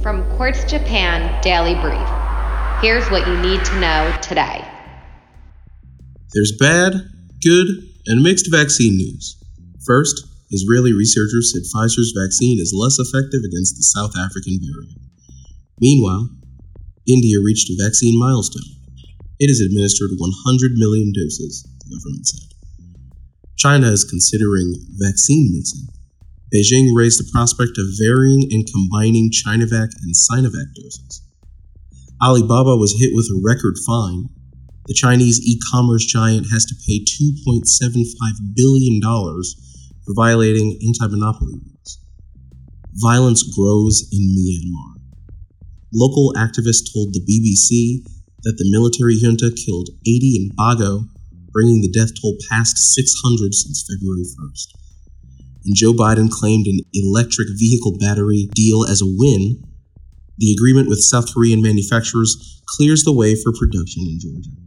From Quartz Japan Daily Brief, here's what you need to know today. There's bad, good, and mixed vaccine news. First, Israeli researchers said Pfizer's vaccine is less effective against the South African variant. Meanwhile, India reached a vaccine milestone. It has administered 100 million doses, the government said. China is considering vaccine mixing. Beijing raised the prospect of varying and combining Chinovac and Sinovac doses. Alibaba was hit with a record fine. The Chinese e-commerce giant has to pay $2.75 billion for violating anti-monopoly rules. Violence grows in Myanmar. Local activists told the BBC that the military junta killed 80 in Bago, bringing the death toll past 600 since February 1st. And Joe Biden claimed an electric vehicle battery deal as a win. The agreement with South Korean manufacturers clears the way for production in Georgia.